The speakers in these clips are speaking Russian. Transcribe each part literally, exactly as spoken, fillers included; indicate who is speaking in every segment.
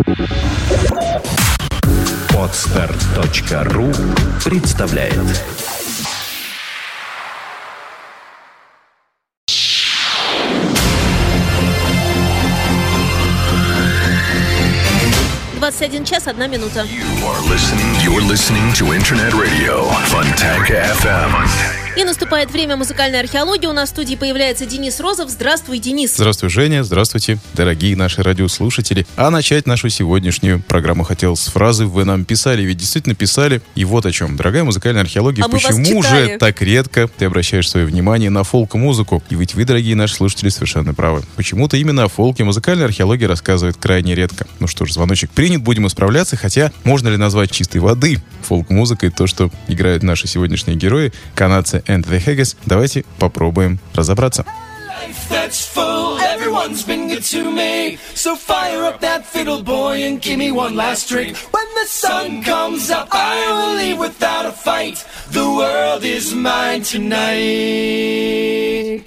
Speaker 1: Подстар точка ру представляет.
Speaker 2: двадцать один час, одна минута.
Speaker 3: You are listening, you're listening to Internet Radio Fontanka эф эм.
Speaker 2: И наступает время музыкальной археологии. У нас в студии появляется Денис Розов. Здравствуй, Денис.
Speaker 4: Здравствуй, Женя. Здравствуйте, дорогие наши радиослушатели. А начать нашу сегодняшнюю программу хотел с фразы «Вы нам писали». Ведь действительно писали. И вот о чем. Дорогая музыкальная археология,
Speaker 2: а
Speaker 4: почему же так редко ты обращаешь свое внимание на фолк-музыку? И ведь вы, дорогие наши слушатели, совершенно правы. Почему-то именно о фолке музыкальная археология рассказывает крайне редко. Ну что ж, звоночек принят, будем исправляться. Хотя, можно ли назвать чистой воды фолк-музыкой то, что играют наши сегодняшние герои, канадцы and the Haggis? Давайте попробуем разобраться.
Speaker 5: That's full, everyone's been good to me. So fire up that fiddle, boy, and give me one last drink. When the sun comes up, I will leave without a fight. The world is mine tonight.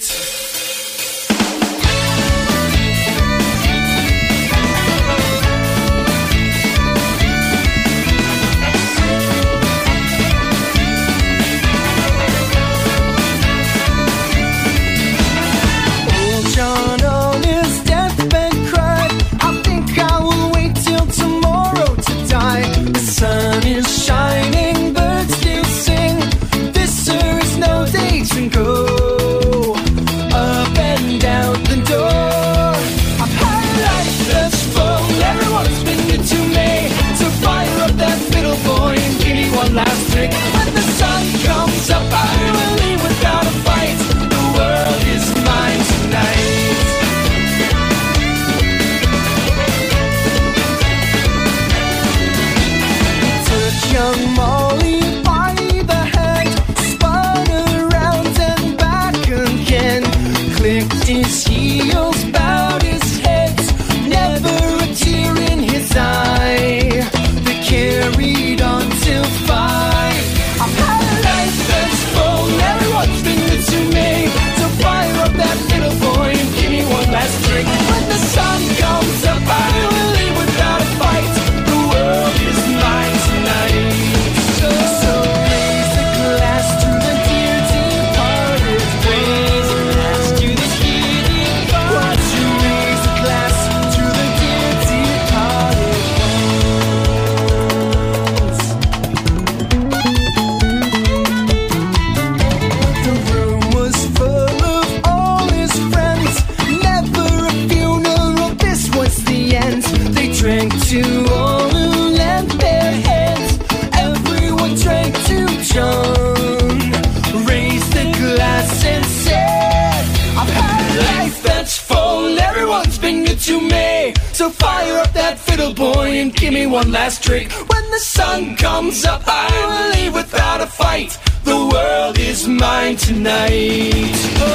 Speaker 5: One last drink. When the sun comes up, I will leave without a fight. The world is mine tonight. Oh,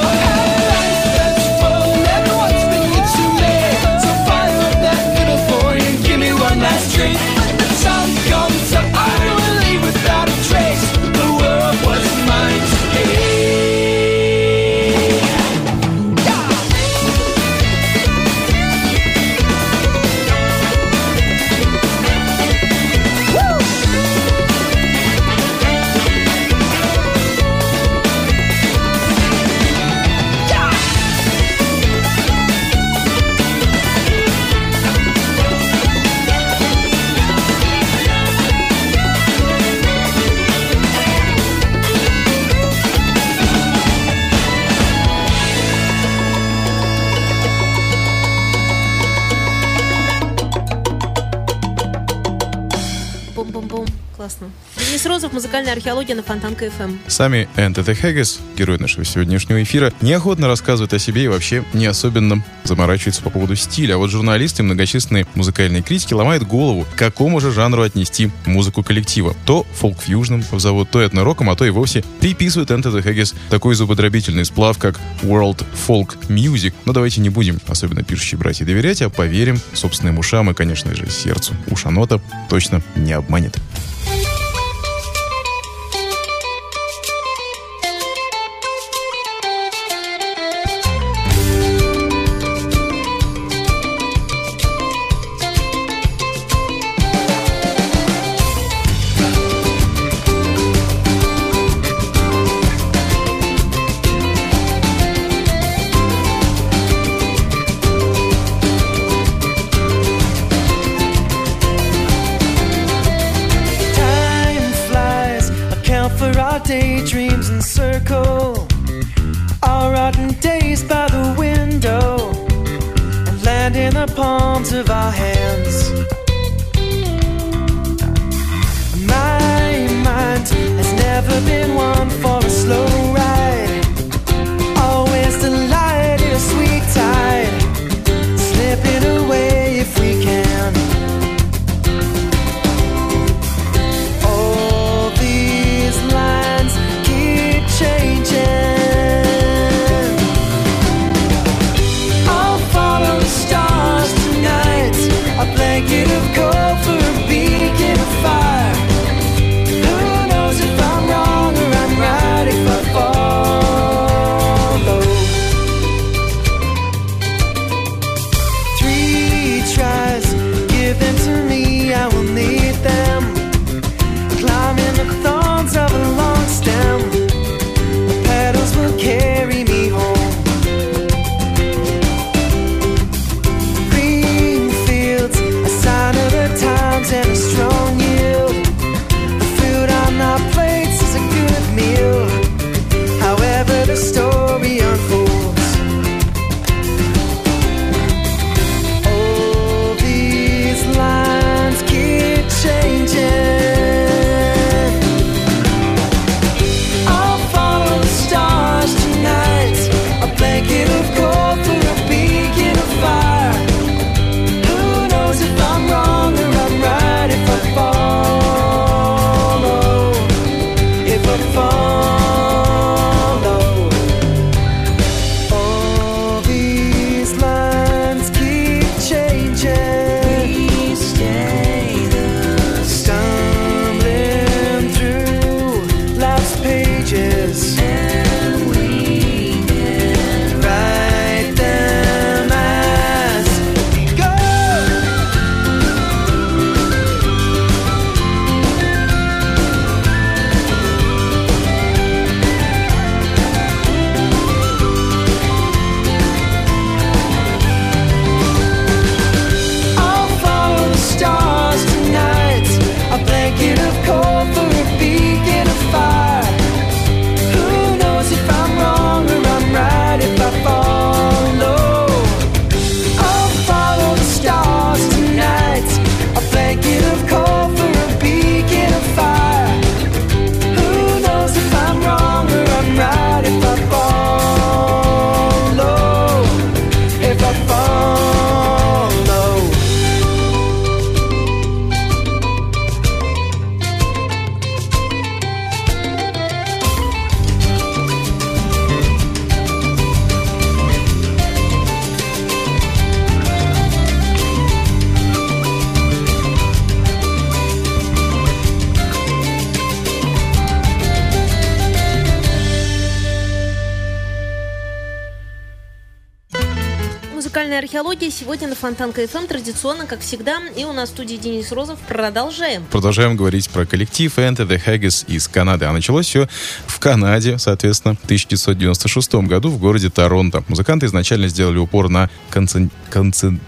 Speaker 5: that's full. Everyone's been good to me. So fire up that little boy and give me one last drink. When the sun comes up, I will leave without a trace. The world was mine today.
Speaker 2: Классно. Денис Розов, музыкальная археология на Фонтанка эф эм.
Speaker 4: Сами and the Haggis, герои нашего сегодняшнего эфира, неохотно рассказывают о себе и вообще не особенно заморачиваются по поводу стиля. А вот журналисты и многочисленные музыкальные критики ломают голову, к какому же жанру отнести музыку коллектива. То фолк-фьюжном зовут, то этно-роком, а то и вовсе приписывают and the Haggis такой зубодробительный сплав, как World Folk Music. Но давайте не будем, особенно пишущие братья, доверять, а поверим собственным ушам и, конечно же, сердцу. Ушанота точно не обманет.
Speaker 5: daydreams encircle our rotten days by the window and land in the palms of our hands. My mind has never been one for a slow ride, always delight in a sweet tide, slipping away if we can. All these lines keep changing. I'll follow the stars tonight, a blanket of cold for a beacon of fire. Who knows if I'm wrong or I'm right if I follow. Three tries, give them to me, I will need them. Climbing the thorns of a long stem, the petals will carry me home. Green fields, a sign of the times and a strong yield. The food on our plates is a good meal, however the story unfolds. All these lines keep changing. I'll follow the stars tonight, a blanket of cold for a beacon of fire. Who knows if I'm wrong or I'm right if I follow, if I follow. All these lines keep changing. We stay the stumbling through life's pages, and we can write them as we go. I'll follow the stars tonight, a blanket of cold for a beacon of fire. Who knows if I'm wrong or I'm right if I follow. I'll follow the stars tonight, a blanket of cold for a beacon of fire. Who knows if I'm wrong or I'm right if I follow, if I follow.
Speaker 2: Музыкальная археология сегодня на Фонтанка эф эм традиционно, как всегда. И у нас в студии Денис Розов. Продолжаем.
Speaker 4: Продолжаем говорить про коллектив Enter the Haggis из Канады. А началось все в Канаде, соответственно, в тысяча девятьсот девяносто шестом году в городе Торонто. Музыканты изначально сделали упор на концен... концен...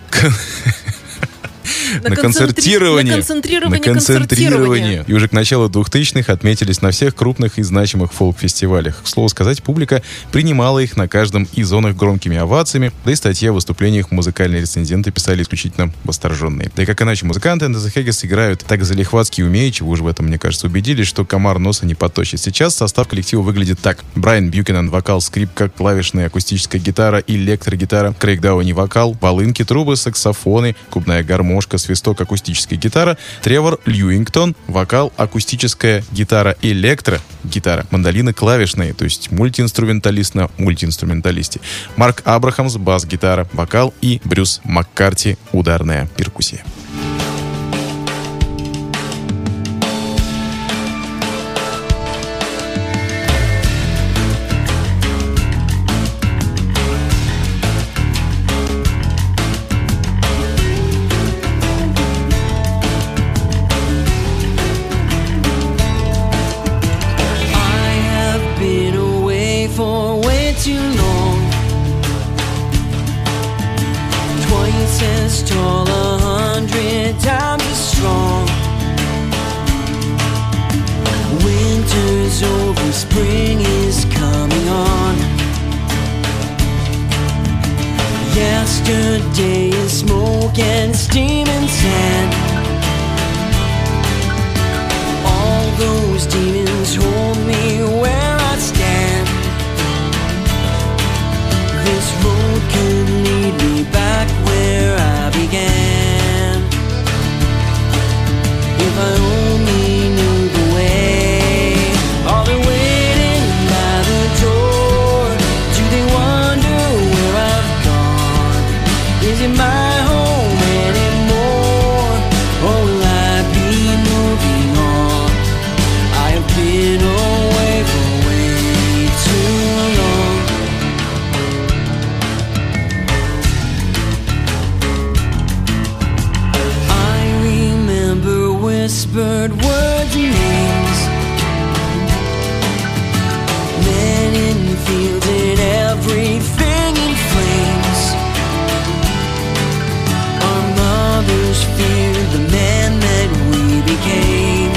Speaker 2: На,
Speaker 4: на концертирование.
Speaker 2: На концентрирование,
Speaker 4: на концентрирование. И уже к началу двухтысячных отметились на всех крупных и значимых фолк-фестивалях. К слову сказать, публика принимала их на каждом из зонах громкими овациями, да и статьи о выступлениях музыкальные рецензенты писали исключительно восторженные. Да и как иначе, музыканты Enter the Haggis играют так залихватски и умеючи, вы уже в этом, мне кажется, убедились, что комар носа не поточит. Сейчас состав коллектива выглядит так. Брайан Бьюкенен — вокал, скрипка, клавишная, акустическая гитара, электрогитара, Крейг Дауни — вокал, волынки, трубы, саксофоны, губная гармошка, свисток, акустическая гитара, Тревор Льюингтон — вокал, акустическая гитара, электро, гитара, мандолины клавишные, то есть мультиинструменталист на мультиинструменталисте, Марк Абрахамс — бас-гитара, вокал и Брюс Маккарти — ударная перкуссия.
Speaker 5: Twice as tall, a hundred spring is coming on. Yesterday is smoke and steam and sand. All those demons hold me where I stand. This road could lead me back where I began. If I only knew the way. Are they waiting by the door? Do they wonder where I've gone? Is it my home anymore? Or will I be moving on? I have been away for way too long. I remember whispered words and names, men in fields and everything in flames. Our mothers feared the man that we became,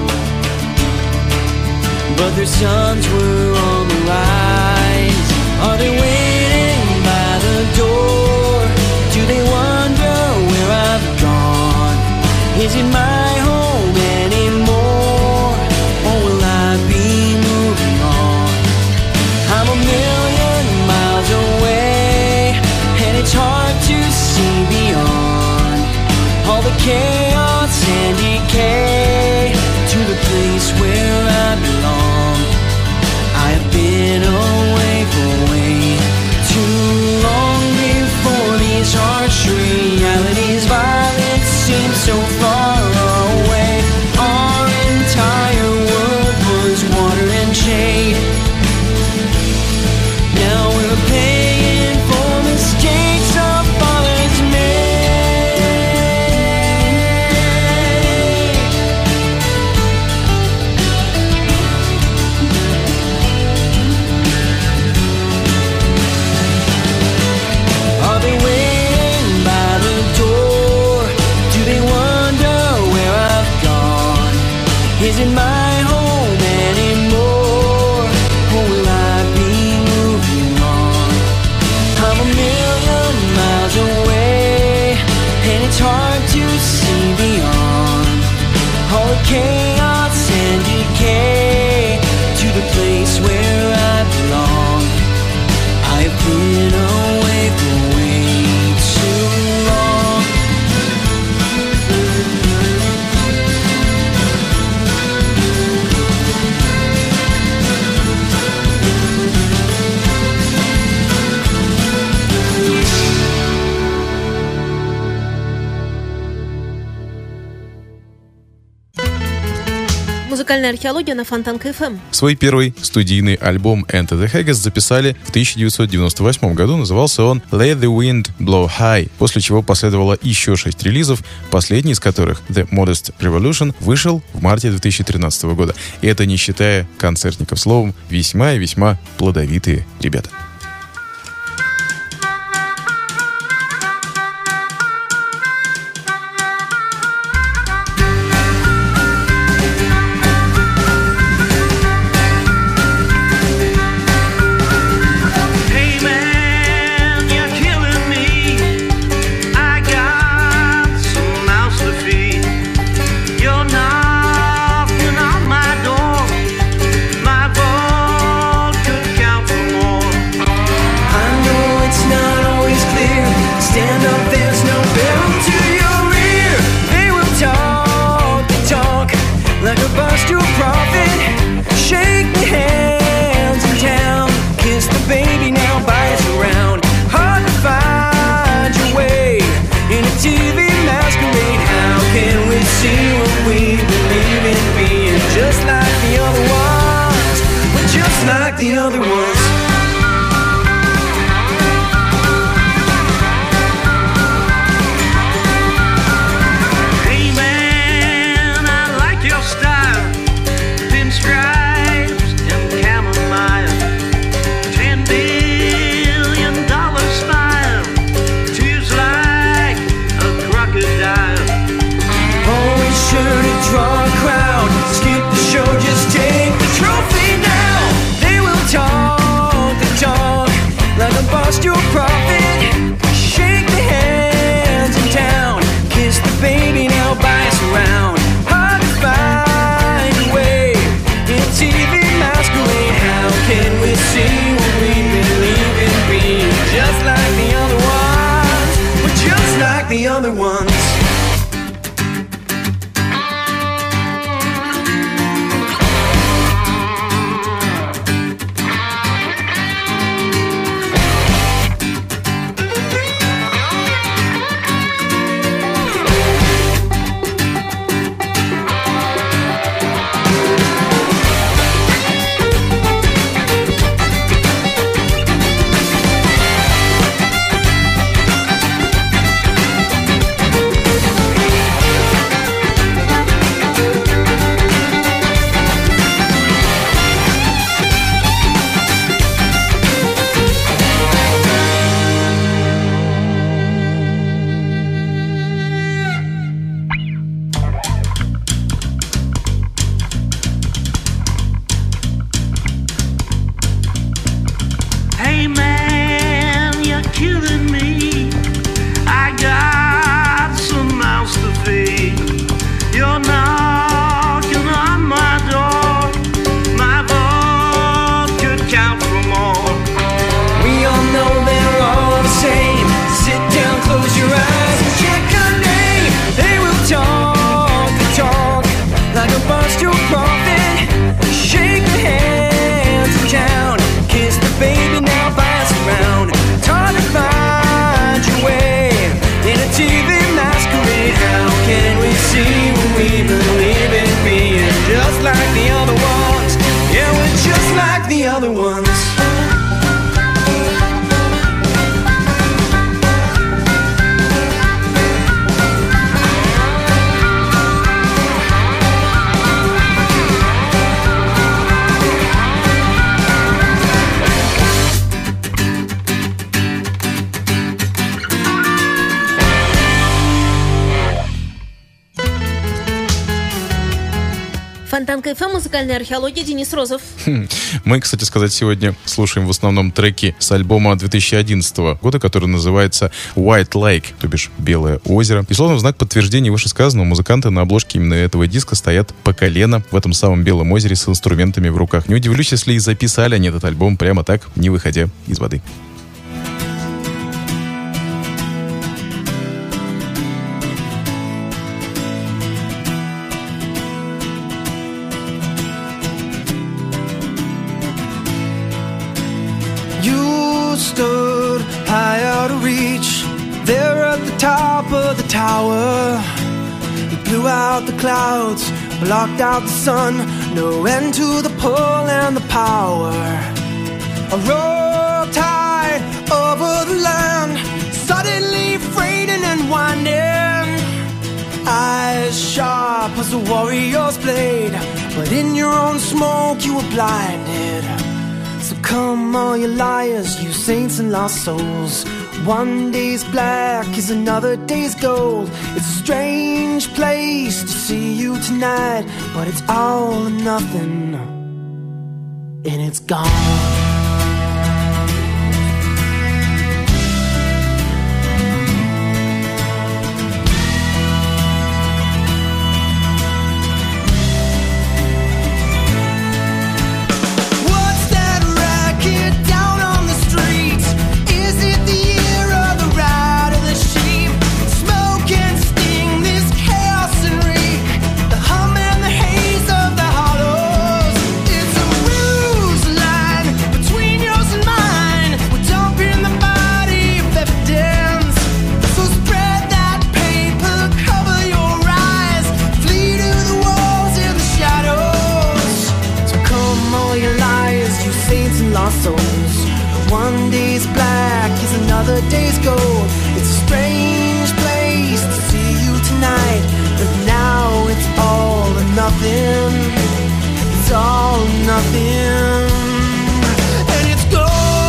Speaker 5: but their sons were on the rise. Are they waiting by the door? Do they wonder where I've gone? Is it my home anymore? Or will I be moving on? I'm a million miles away, and it's hard to see beyond all the chaos and decay to the place where I belong. I have been away for way too long. Before these harsh realities, violence seems so far away. Our entire world was water and shade. Now we're paying for mistakes our fathers made. Are they waiting by the door? Do they wonder where I've gone? Is it my home anymore? Or will I be moving on? I'm a million miles away, and it's hard to see beyond all the chaos and decay to the place where I belong. I have been away for way too long.
Speaker 2: Музыкальная археология на Фонтанка эф эм.
Speaker 4: Свой первый студийный альбом Enter the Haggis записали в тысяча девятьсот девяносто восьмом году. Назывался он Let the Wind Blow High, после чего последовало еще шесть релизов, последний из которых, The Modest Revolution, вышел в марте две тысячи тринадцатого года. И это не считая концертников. Словом, весьма и весьма плодовитые ребята.
Speaker 5: Hey man, you're killing me. I got some mouths to feed. You're knocking on my door. My boat could count for more. I know it's not always clear. Stand up, there's no barrel to your rear. They will talk the talk like a bus to a prophet. Shake the hands in town. Kiss the baby now, buy us around. Hard to find your way in a T V masquerade. How can we see what we believe in? Being just like the other ones. We're just like the other ones. Hey man, I like your style. Pinstripes and chamomile. Ten billion dollar smile. Tears like a crocodile. Always sure to draw a crowd. Skip the show, just take the trophy now. bust your coffin, shake the hands of town, kiss the baby, now pass around. It's hard to find your way in a T V masquerade. How can we see when we believe in being just like the other ones? Yeah, we're just like the other ones.
Speaker 2: Фонтанка эф эм, музыкальная археология, Денис Розов.
Speaker 4: Мы, кстати сказать, сегодня слушаем в основном треки с альбома две тысячи одиннадцатого года, который называется White Lake, то бишь Белое озеро. И словно в знак подтверждения вышесказанного, музыканты на обложке именно этого диска стоят по колено в этом самом Белом озере с инструментами в руках. Не удивлюсь, если и записали они этот альбом прямо так, не выходя из воды.
Speaker 5: Stood high out of reach, there at the top of the tower. You blew out the clouds, blocked out the sun, no end to the pull and the power. A roll tide over the land, suddenly freighting and winding. Eyes sharp as a warrior's blade, but in your own smoke you were blinded. So come all you liars, you saints and lost souls. One day's black is another day's gold. It's a strange place to see you tonight, but it's all or nothing, and it's gone. One day's black is another day's gold. It's a strange place to see you tonight, but now it's all or nothing. It's all or nothing, and it's gold.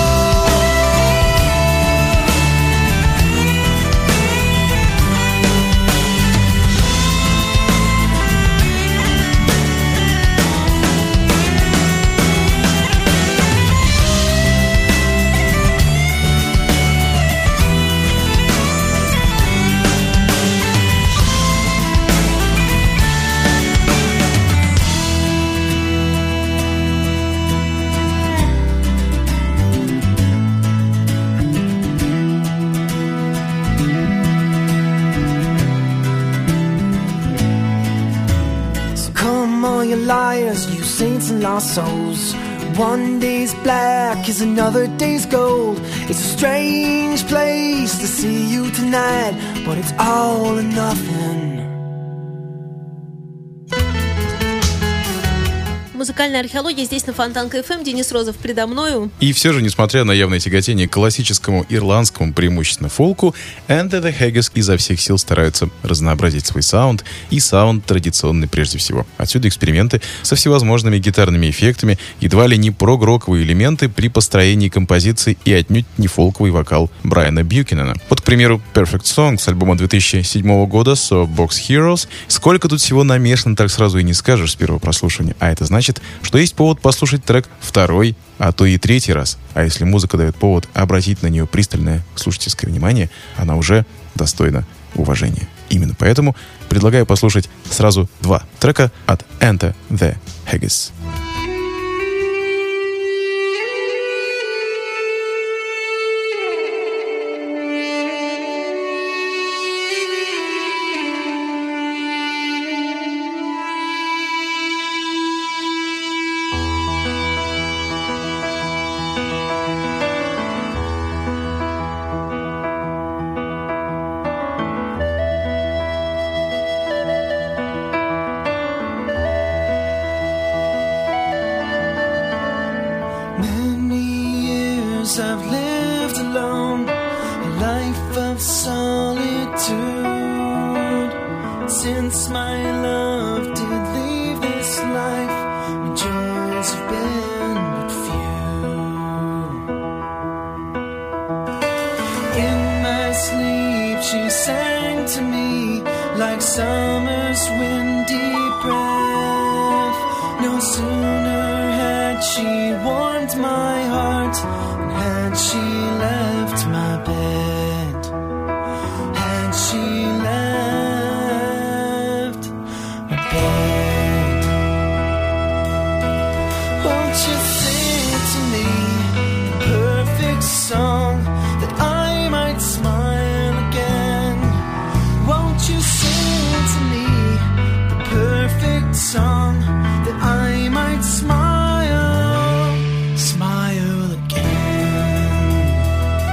Speaker 5: Liars, you saints and lost souls. One day's black is another day's gold. It's a strange place to see you tonight, but it's all or nothing.
Speaker 2: Музыкальная археология здесь на Фонтанка эф эм. Денис Розов предо мною.
Speaker 4: И все же, несмотря на явное тяготение к классическому ирландскому, преимущественно фолку, Enter the Haggis изо всех сил стараются разнообразить свой саунд, и саунд традиционный прежде всего. Отсюда эксперименты со всевозможными гитарными эффектами, едва ли не прог-роковые элементы при построении композиции и отнюдь не фолковый вокал Брайана Бьюкенена. Вот, к примеру, Perfect Song с альбома две тысячи седьмого года Soapbox Heroes. Сколько тут всего намешано, так сразу и не скажешь с первого прослушивания. А это значит, что есть повод послушать трек второй, а то и третий раз. А если музыка дает повод обратить на нее пристальное слушательское внимание, она уже достойна уважения. Именно поэтому предлагаю послушать сразу два трека от Enter the Haggis.
Speaker 5: since my love did leave this life, my joys have been but few. In my sleep she sang to me like summer's windy breath. No sooner had she warmed my heart than had she left my bed. Had she left my bed. Won't you sing to me the perfect song that I might smile again? Won't you sing to me the perfect song that I might smile, smile again?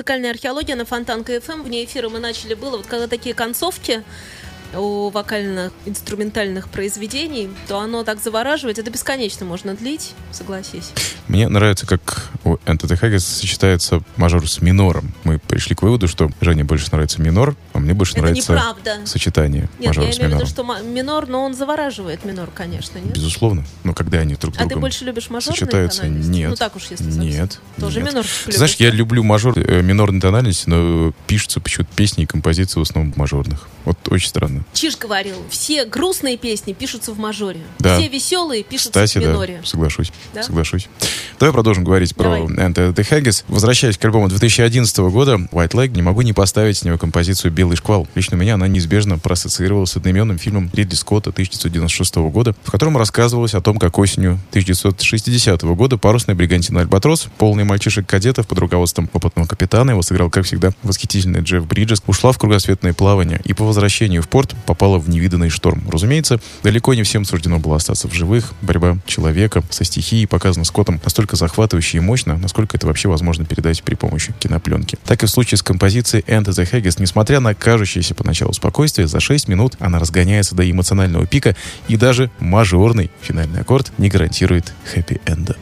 Speaker 2: Музыкальная археология на Фонтанка эф эм. Вне эфира мы начали было, вот когда такие концовки у вокально-инструментальных произведений, то оно так завораживает. Это бесконечно можно длить, согласись.
Speaker 4: Мне нравится, как у Enter the Haggis сочетается мажор с минором. Мы пришли к выводу, что Жене больше нравится минор, а мне больше
Speaker 2: Это
Speaker 4: нравится
Speaker 2: неправда.
Speaker 4: сочетание
Speaker 2: Нет,
Speaker 4: мажора
Speaker 2: я
Speaker 4: с
Speaker 2: имею в
Speaker 4: минором.
Speaker 2: виду, что ма- минор, но он завораживает минор, конечно, нет?
Speaker 4: Безусловно. Но когда они друг с
Speaker 2: А ты
Speaker 4: другом
Speaker 2: больше любишь мажорные
Speaker 4: сочетаются,
Speaker 2: тональности?
Speaker 4: нет.
Speaker 2: Ну так уж, если совсем.
Speaker 4: Нет.
Speaker 2: Тоже
Speaker 4: нет.
Speaker 2: минор
Speaker 4: Ты
Speaker 2: любишь?
Speaker 4: знаешь, я люблю мажор, э, минорные тональности, но пишутся почему-то песни и композиции в основном в мажорных. Вот очень странно.
Speaker 2: Чиж говорил, все грустные песни пишутся в мажоре.
Speaker 4: Да.
Speaker 2: Все веселые пишутся
Speaker 4: Кстати,
Speaker 2: в миноре.
Speaker 4: да, соглашусь.
Speaker 2: Да?
Speaker 4: Соглашусь. Давай продолжим говорить
Speaker 2: Давай.
Speaker 4: про Enter the Haggis. Возвращаясь к альбому две тысячи одиннадцатого года, White Leg, не могу не поставить с него композицию «Белый шквал». Лично у меня она неизбежно проассоциировалась с одноименным фильмом Ридли Скотта тысяча девятьсот девяносто шестого года, в котором рассказывалось о том, как осенью тысяча девятьсот шестидесятого года парусная бригантина «Альбатрос», полный мальчишек-кадетов под руководством опытного капитана, его сыграл, как всегда, восхитительный Джефф Бриджес, ушла в кругосветное плавание и по возвращению в порт попала в невиданный шторм. Разумеется, далеко не всем суждено было остаться в живых. Борьба человека со стихией показана Скоттом настолько захватывающе и мощно, насколько это вообще возможно передать при помощи кинопленки. Так и в случае с композицией Enter the Haggis, несмотря на кажущееся поначалу спокойствие, за шесть минут она разгоняется до эмоционального пика, и даже мажорный финальный аккорд не гарантирует хэппи-энда.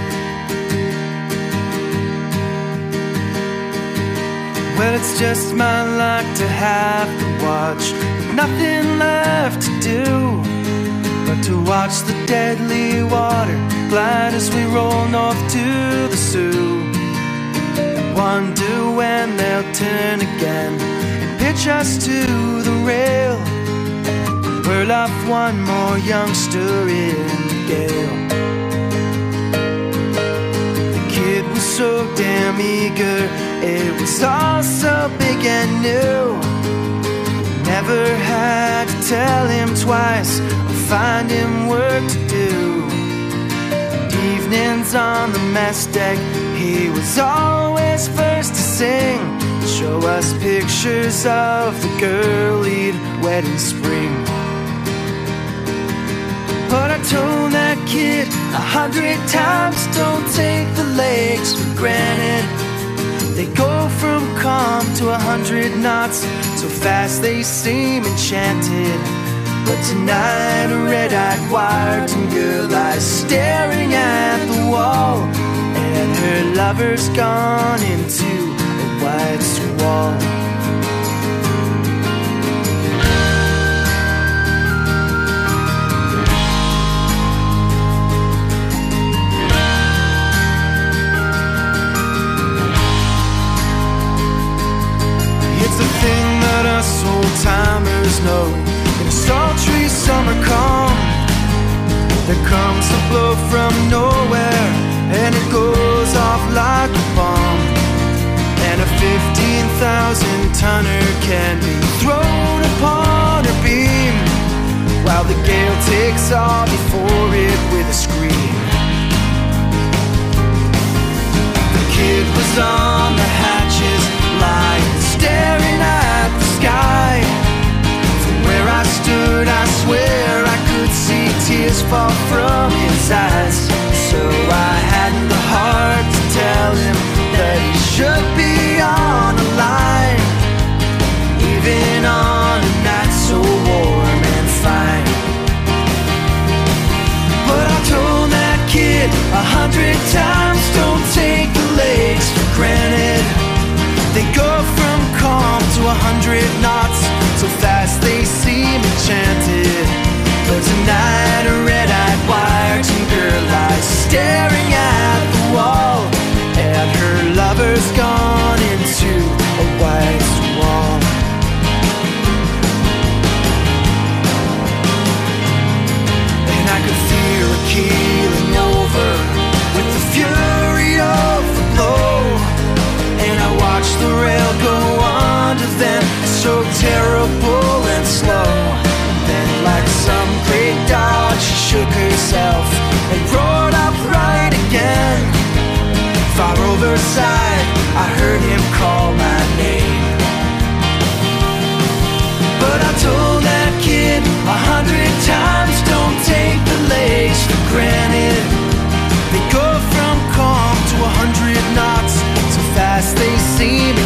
Speaker 5: Well, it's just my luck to have to watch, with nothing left to do but to watch the deadly water glide as we roll north to the Sioux. And wonder when they'll turn again and pitch us to the rail. Whirl off one more youngster in the gale. The kid was so damn eager, it was all so big and new. Never had to tell him twice or find him work to do. Evenings on the mess deck, he was always first to sing, show us pictures of the girl he'd wed in spring. But I told that kid a hundred times, don't take the legs for granted. They go from calm to a hundred knots, so fast they seem enchanted. But tonight a red-eyed Wyerton girl lies staring at the wall, and her lover's gone into a white squall. It's a thing that us old-timers know. In a sultry summer calm, there comes a blow from nowhere, and it goes off like a bomb. And a fifteen thousand tonner can be thrown upon her beam, while the gale takes off before it with a scream. The kid was on the hatches, lying, staring at the sky. From where I stood, I swear I could see tears fall from his eyes. So I hadn't the heart to tell him that he should be on the line, even on a night so warm and fine. But I told that kid a hundred times, don't take the legs for granted. They go from calm to a hundred knots, so fast they seem enchanted. But tonight a red-eyed Wyerton girl lies staring at the wall, and her lover's gone into a white squall. And I could feel her keeling over with the fury of the blow, and I watched the rail go under them, so terrible and slow. And then like some great dog, she shook herself and roared upright again. Far overside, I heard him call my name. But I told that kid a hundred times, don't take the legs for granted. They go from calm to a hundred knots, so fast they seem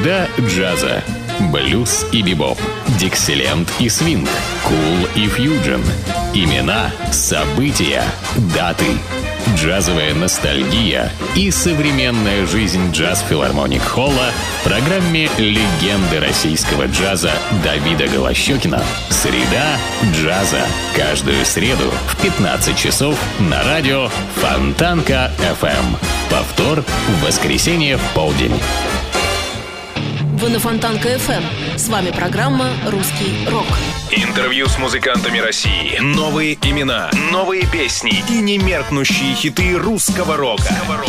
Speaker 6: Среда джаза. Блюз и бибоп. Диксиленд и свинг. Кул и фьюджен. Имена, события, даты. Джазовая ностальгия и современная жизнь джаз-филармоник Холла в программе «Легенды российского джаза» Давида Голощекина. Среда джаза. Каждую среду в пятнадцать часов на радио Фонтанка эф эм. Повтор в воскресенье в полдень.
Speaker 2: Вы на Фонтанка эф эм. С вами программа «Русский рок».
Speaker 1: Интервью с музыкантами России. Новые имена, новые песни и немеркнущие хиты русского рока.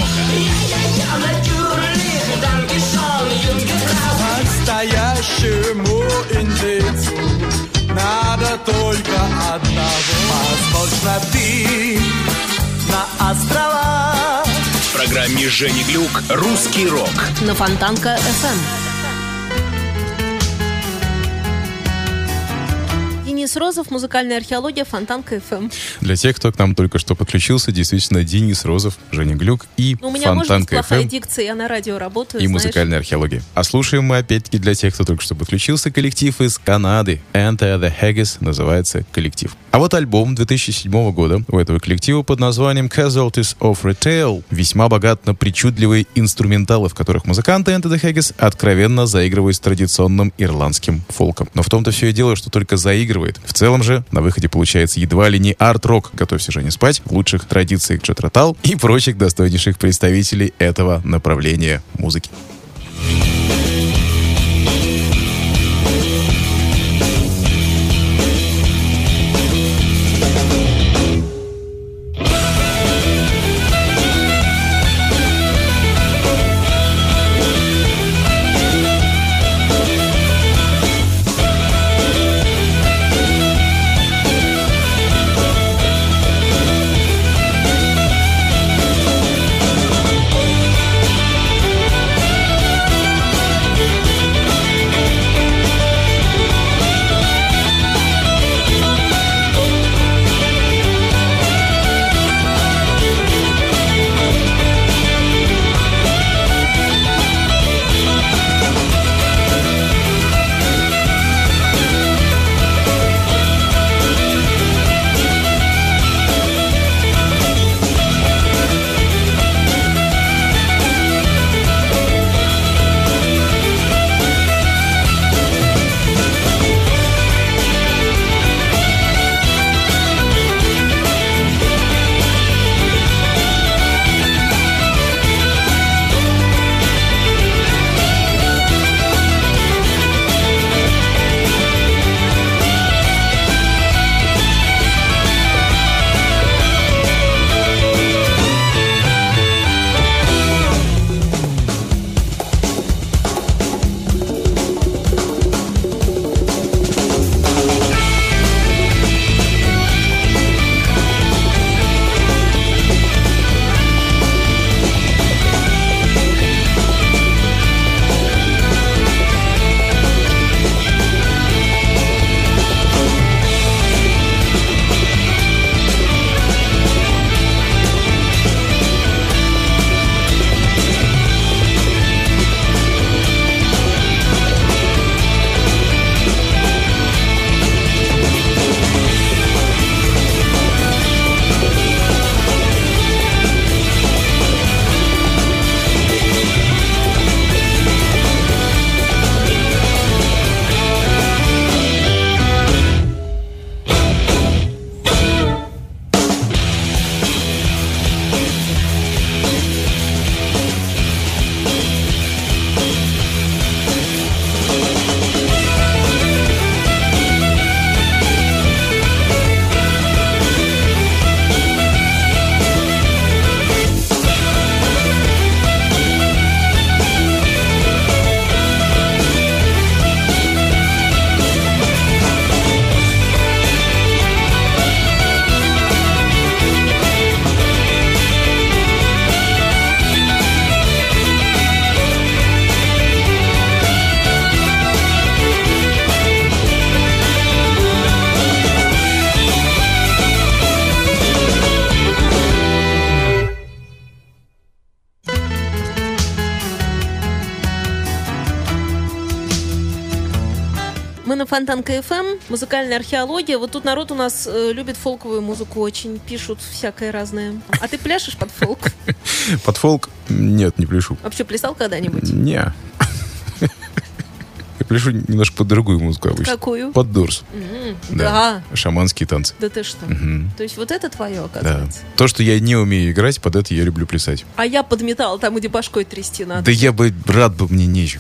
Speaker 5: Настоящему индейцу надо только одного. Возможно, ты на островах.
Speaker 1: В программе Жени Глюк «Русский рок»
Speaker 2: На Фонтанка эф эм. Денис Розов, музыкальная археология, Фонтанка эф эм.
Speaker 4: Для тех, кто к нам только что подключился, действительно, Денис Розов, Женя Глюк и
Speaker 2: Ну, у меня может быть
Speaker 4: Фонтанка эф
Speaker 2: плохая
Speaker 4: эм
Speaker 2: дикция, я на радио работаю,
Speaker 4: и
Speaker 2: знаешь.
Speaker 4: музыкальная археология. А слушаем мы, опять-таки, для тех, кто только что подключился, коллектив из Канады. Enter the Haggis называется коллектив. А вот альбом две тысячи седьмого года у этого коллектива под названием Casualties of Retail весьма богат на причудливые инструменталы, в которых музыканты Enter the Haggis откровенно заигрывают с традиционным ирландским фолком. Но в том-то все и дело, что только заигрывает. В целом же на выходе получается едва ли не арт-рок, готовься же не спать, в лучших традициях Джет Ротал и прочих достойнейших представителей этого направления музыки.
Speaker 2: Мы на Фонтанка эф эм, музыкальная археология. Вот тут народ у нас э, любит фолковую музыку очень, пишут всякое разное. А ты пляшешь под фолк?
Speaker 4: Под фолк? Нет, не пляшу.
Speaker 2: Вообще плясал когда-нибудь?
Speaker 4: Не. Я пляшу немножко под другую музыку обычно.
Speaker 2: Какую?
Speaker 4: Под Дорс.
Speaker 2: М,
Speaker 4: Да.
Speaker 2: Да.
Speaker 4: Шаманские танцы.
Speaker 2: Да ты что?
Speaker 4: Мгм.
Speaker 2: То есть вот это твое,
Speaker 4: Да.
Speaker 2: оказывается?
Speaker 4: То, что я не умею играть, под это я люблю плясать.
Speaker 2: А я под металл, там, где башкой трясти надо.
Speaker 4: Да я бы рад бы, мне нечем.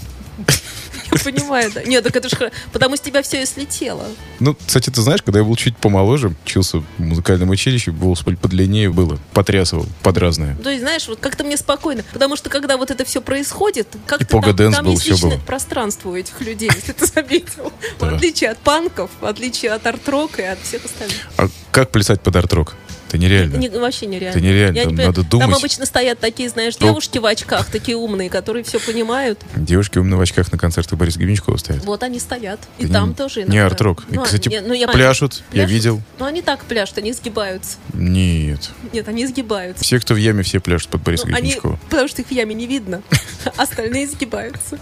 Speaker 2: Я понимаю, да. Нет, так это же потому что у тебя все и слетело.
Speaker 4: Ну, кстати, ты знаешь, когда я был чуть помоложе, учился в музыкальном училище, волос подлиннее было, потрясывал под разное.
Speaker 2: То есть, знаешь, вот как-то мне спокойно. Потому что, когда вот это все происходит, как-то
Speaker 4: И пога-дэнс
Speaker 2: там, там
Speaker 4: был,
Speaker 2: есть
Speaker 4: всё
Speaker 2: личное
Speaker 4: было.
Speaker 2: пространство у этих людей, если ты заметил. В
Speaker 4: Да.
Speaker 2: отличие от панков, в отличие от арт-рока и от всех остальных.
Speaker 4: А как плясать под арт-рок? Это нереально.
Speaker 2: Не- вообще нереально.
Speaker 4: Это нереально,
Speaker 2: Я
Speaker 4: там
Speaker 2: понимаю,
Speaker 4: надо думать.
Speaker 2: Там обычно стоят такие, знаешь,
Speaker 4: Топ.
Speaker 2: девушки в очках, такие умные, которые все понимают.
Speaker 4: Девушки умные в очках на концертах Бориса Гребенщикова стоят.
Speaker 2: Вот они стоят. И
Speaker 4: Да
Speaker 2: там
Speaker 4: не-
Speaker 2: тоже
Speaker 4: не
Speaker 2: иногда.
Speaker 4: арт-рок. И,
Speaker 2: Ну,
Speaker 4: кстати,
Speaker 2: не- ну, я-
Speaker 4: пляшут, я видел.
Speaker 2: Ну, они так пляшут, они сгибаются.
Speaker 4: Нет.
Speaker 2: Нет, они сгибаются.
Speaker 4: Все, кто в яме, все пляшут под Бориса
Speaker 2: Ну, они,
Speaker 4: Гребенщикова.
Speaker 2: потому что их в яме не видно. Остальные сгибаются.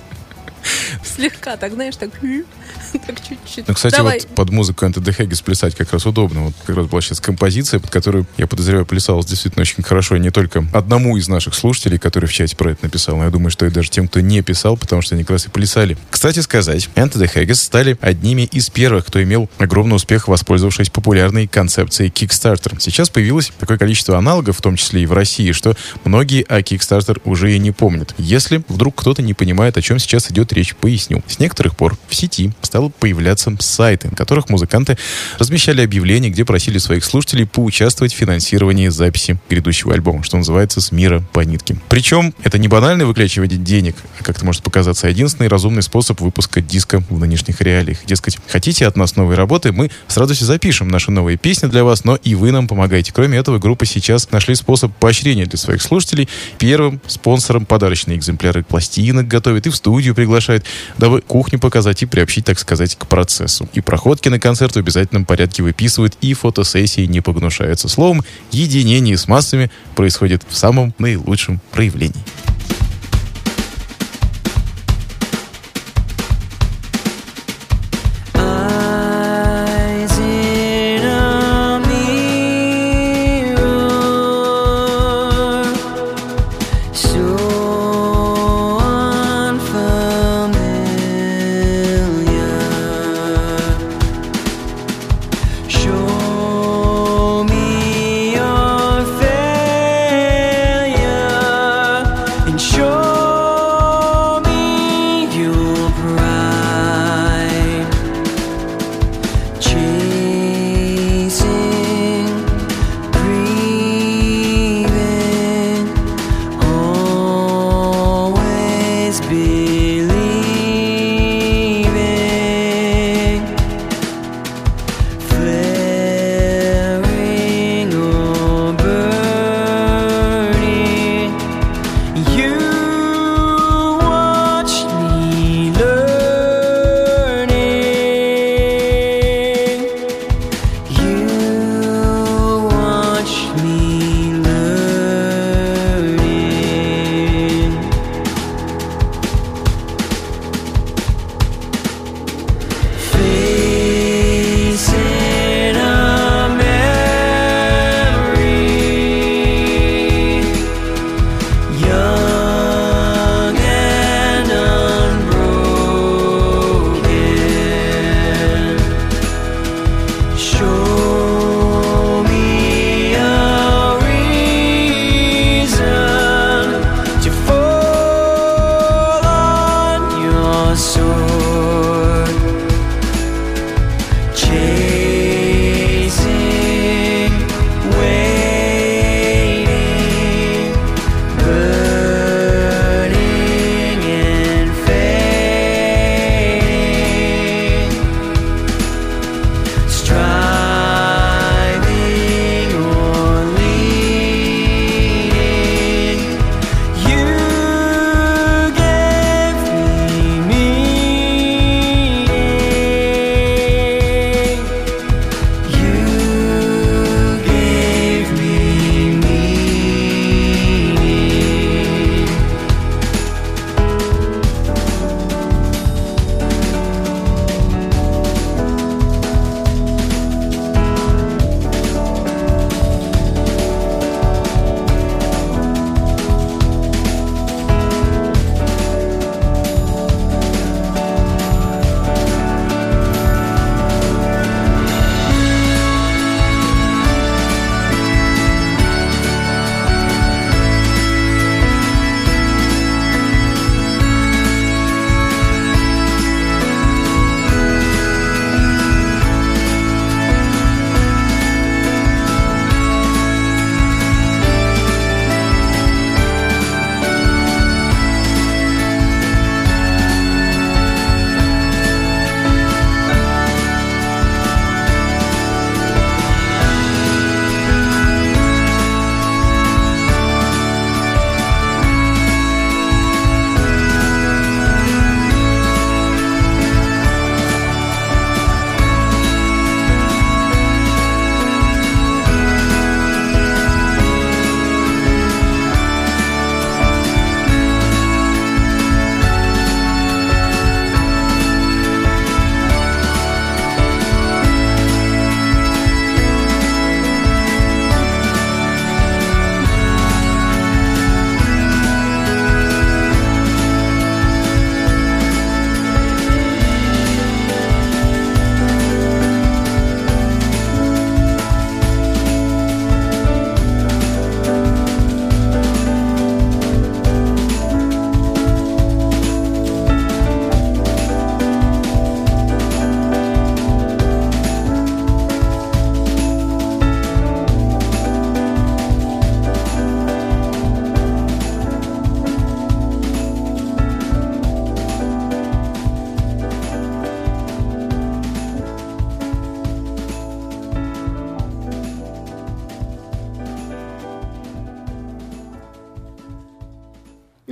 Speaker 2: Слегка, так, знаешь, так, так чуть-чуть.
Speaker 4: Ну, кстати,
Speaker 2: Давай.
Speaker 4: вот под музыку Enter the Haggis плясать как раз удобно. Вот как раз была сейчас композиция, под которую, я подозреваю, плясалась действительно очень хорошо. И не только одному из наших слушателей, который в чате про это написал, но я думаю, что и даже тем, кто не писал, потому что они как раз и плясали. Кстати сказать, Enter the Haggis стали одними из первых, кто имел огромный успех, воспользовавшись популярной концепцией Kickstarter. Сейчас появилось такое количество аналогов, в том числе и в России, что многие о Kickstarter уже и не помнят. Если вдруг кто-то не понимает, о чем сейчас идет речь, поясню. С некоторых пор в сети стало появляться сайты, на которых музыканты размещали объявления, где просили своих слушателей поучаствовать в финансировании записи грядущего альбома, что называется «С мира по нитке». Причем это не банальное выклячивание денег, как это может показаться, а единственный разумный способ выпуска диска в нынешних реалиях. Дескать, хотите от нас новые работы, мы с радостью запишем наши новые песни для вас, но и вы нам помогаете. Кроме этого, группа сейчас нашли способ поощрения для своих слушателей. Первым спонсором подарочные экземпляры пластинок готовят и в студию приглашают, дабы кухню показать и приобщить, так сказать, к процессу. И проходки на концерт в обязательном порядке выписывают, и фотосессии не погнушаются. Словом, единение с массами происходит в самом наилучшем проявлении.
Speaker 5: Eyes in a mirror, so unfamiliar. Show me your failure,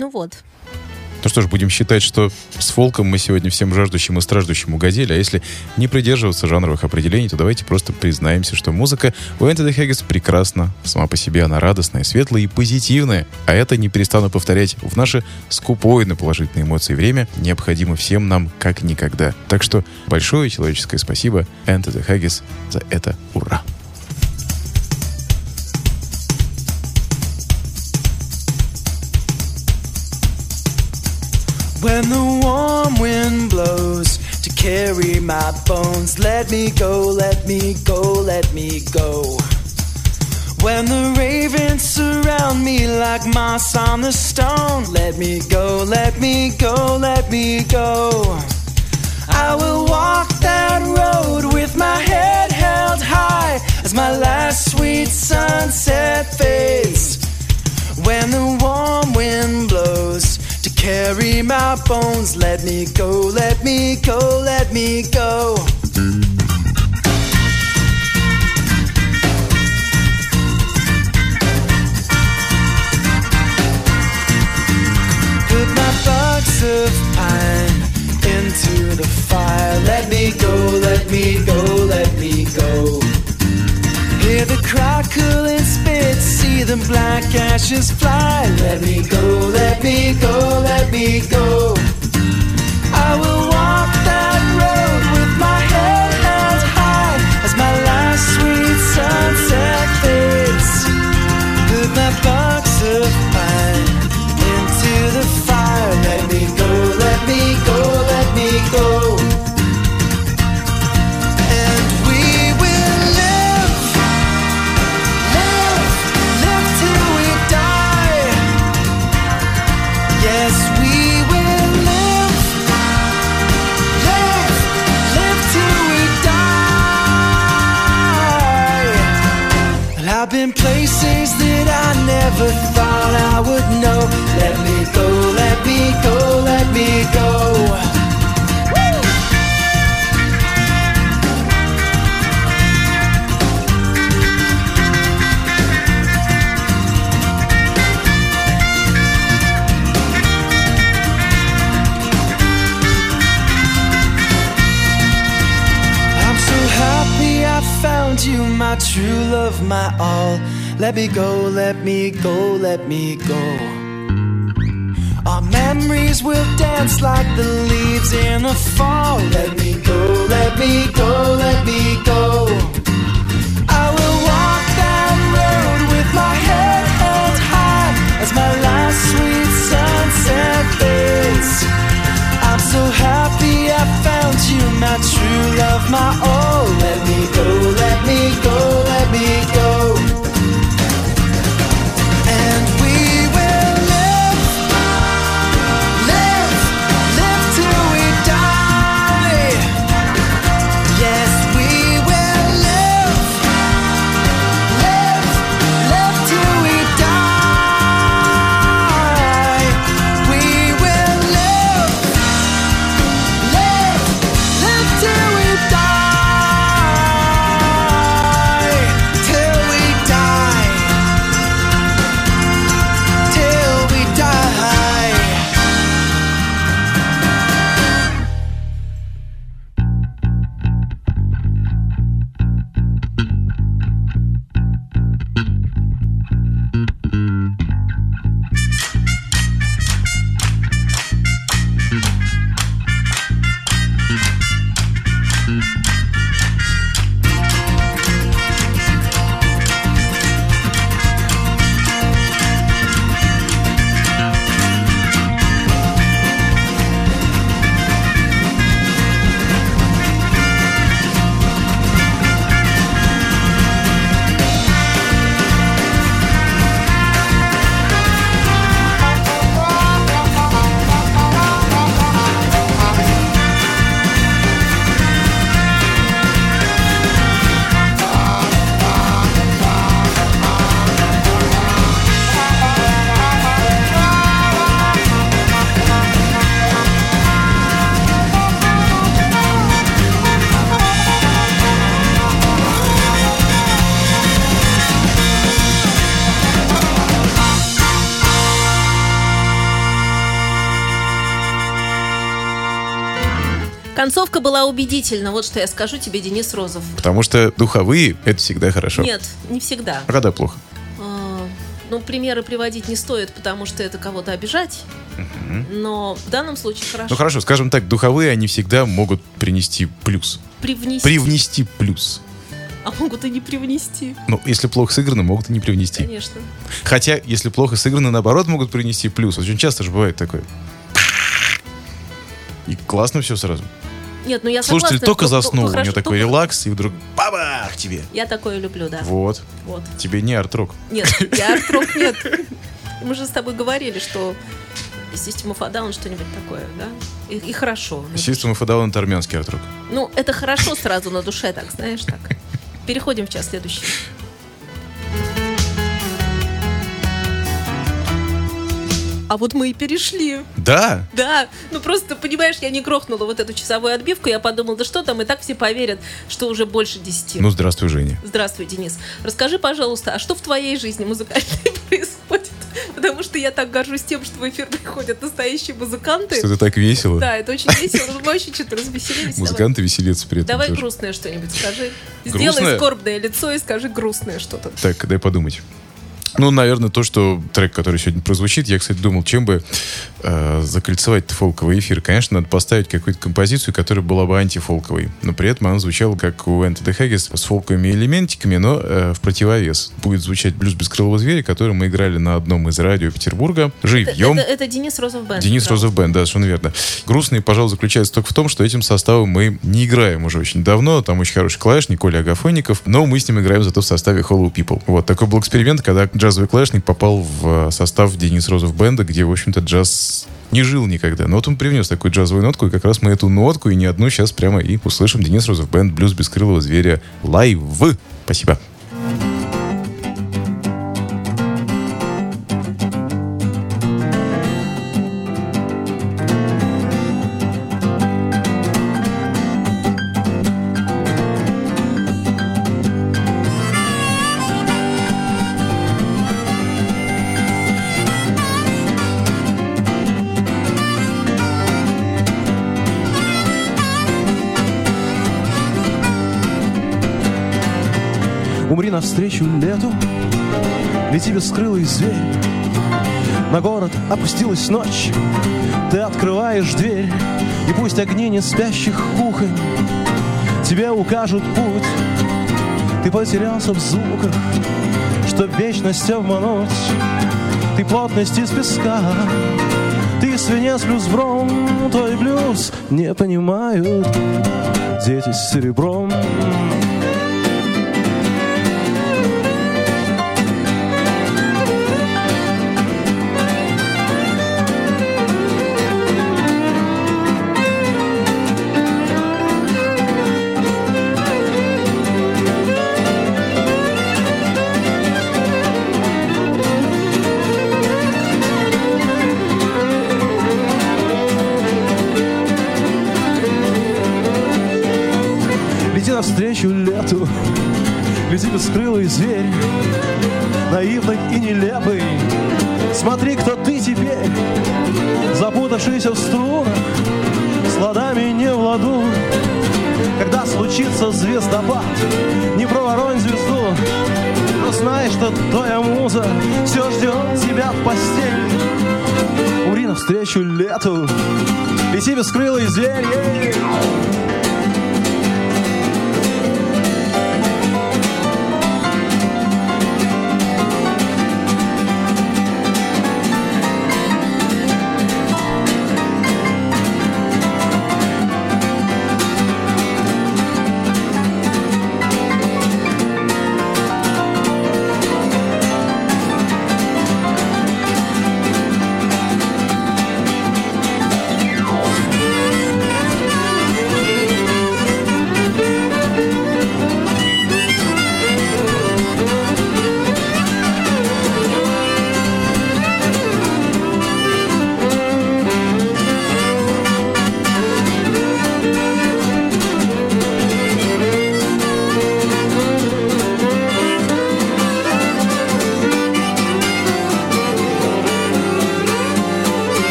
Speaker 2: Ну вот.
Speaker 4: Ну что ж, будем считать, что с фолком мы сегодня всем жаждущим и страждущим угодили, а если не придерживаться жанровых определений, то давайте просто признаемся, что музыка у Enter the Haggis прекрасна. Сама по себе она радостная, светлая и позитивная. А это, не перестану повторять, в наше скупое на положительные эмоции время необходимо всем нам как никогда. Так что большое человеческое спасибо Enter the Haggis за это. Ура!
Speaker 5: When the warm wind blows to carry my bones, let me go, let me go, let me go. When the ravens surround me like moss on the stone, let me go, let me go, let me go. I will walk that road with my head held high as my last sweet sunset fades. When the warm wind blows to carry my bones, let me go, let me go, let me go. Put my box of pine into the fire, let me go, let me go, let me go. Hear the crackle and spit, see the black ashes fly. Let me go, let me go, let me go. I will walk that road with my head held high as my last sweet sunset fades. Put my box of pine into the fire. Let me go, let me go, let me go. I've been places that I never thought I would know. Let me go, let me go, let me go. I'm so happy I found you, my true love, my all. Let me go, let me go, let me go. Our memories will dance like the leaves in the fall. Let me go, let me go, let me go. I will walk that road with my head held high as my last sweet sunset fades. I'm so happy I found you, my true love, my all. Let me go, let me go, let me go. And we will live, live, live till we die. Yes, we will live, live, live till we die. We will live, live, live till we die.
Speaker 2: Концовка была убедительна. Вот что я скажу тебе, Денис Розов.
Speaker 4: Потому что духовые — это всегда хорошо.
Speaker 2: Нет, не всегда.
Speaker 4: А когда плохо?
Speaker 2: А, ну, примеры приводить не стоит, потому что это кого-то обижать. Но в данном случае хорошо.
Speaker 4: Ну хорошо, скажем так, духовые, они всегда могут принести плюс.
Speaker 2: Привнести.
Speaker 4: Привнести плюс.
Speaker 2: А могут и не привнести.
Speaker 4: Ну, если плохо сыграно, могут и не привнести.
Speaker 2: Конечно.
Speaker 4: Хотя, если плохо сыграно, наоборот, могут принести плюс. Очень часто же бывает такое. И классно все сразу.
Speaker 2: Нет, ну я
Speaker 4: Слушатель
Speaker 2: согласна.
Speaker 4: только
Speaker 2: Ну, ну,
Speaker 4: заснул,
Speaker 2: ну,
Speaker 4: у
Speaker 2: хорошо,
Speaker 4: него такой
Speaker 2: только-
Speaker 4: релакс, и вдруг бабах тебе.
Speaker 2: Я такое люблю, да.
Speaker 4: Вот.
Speaker 2: Вот.
Speaker 4: Тебе не арт-рок.
Speaker 2: Нет, я арт-рок нет. Мы же с тобой говорили, что System of a Down что-нибудь такое, да? И, и хорошо. на душе.
Speaker 4: System of a Down — это армянский арт-рок.
Speaker 2: Ну, это хорошо сразу на душе, так, знаешь, так. Переходим в час следующий. А вот мы и перешли.
Speaker 4: Да?
Speaker 2: Да, ну просто, понимаешь, я не грохнула вот эту часовую отбивку, я подумала, да что там, и так все поверят, что уже больше десяти.
Speaker 4: Ну, здравствуй, Женя.
Speaker 2: Здравствуй, Денис. Расскажи, пожалуйста, а что в твоей жизни музыкальной происходит? Потому что я так горжусь тем, что в эфир приходят настоящие музыканты.
Speaker 4: Что-то так весело.
Speaker 2: Да, это очень весело. Мы вообще что-то развеселились.
Speaker 4: Музыканты веселятся при этом
Speaker 2: Давай, давай
Speaker 4: тоже.
Speaker 2: грустное что-нибудь скажи.
Speaker 4: Грустное?
Speaker 2: Сделай скорбное лицо и скажи грустное что-то.
Speaker 4: Так, дай подумать. Ну, наверное, то, что трек, который сегодня прозвучит, я, кстати, думал, чем бы э, закольцевать-то фолковый эфир. Конечно, надо поставить какую-то композицию, которая была бы антифолковой. Но при этом она звучала, как у Enter the Haggis, с фолковыми элементиками, но э, в противовес. Будет звучать «Блюз бескрылого зверя», который мы играли на одном из радио Петербурга. Живьем.
Speaker 2: Это, это, это Денис Розов Бенд.
Speaker 4: Денис
Speaker 2: правда.
Speaker 4: Розов Бенд, да, совершенно верно. Грустный, пожалуй, заключается только в том, что этим составом мы не играем уже очень давно. Там очень хороший клавишник Коля Агафонников, но мы с ним играем зато в составе Hollow People. Вот такой был эксперимент, когда джазовый клавишник попал в состав Денис Розов Бенда, где, в общем-то, джаз не жил никогда. Но вот он привнес такую джазовую нотку, и как раз мы эту нотку и не одну сейчас прямо и услышим. Денис Розов Бенд, «Блюз бескрылого зверя» лайв. Спасибо.
Speaker 7: Умри навстречу лету, лети бескрылый зверь. На город опустилась ночь, ты открываешь дверь, и пусть огни не спящих кухонь тебе укажут путь. Ты потерялся в звуках, чтоб вечность обмануть. Ты плотность из песка, ты свинец плюс бром. Твой блюз не понимают дети с серебром. Лети навстречу лету, лети бескрылый зверь, наивный и нелепый. Смотри, кто ты теперь, запутавшийся в струнах, с ладами не в ладу. Когда случится звездопад, не проворонь звезду, но знай, что твоя муза все ждет тебя в постели. Умри навстречу лету, лети бескрылый зверь.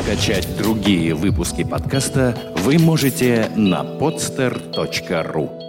Speaker 6: Скачать другие выпуски подкаста вы можете на podster точка ру.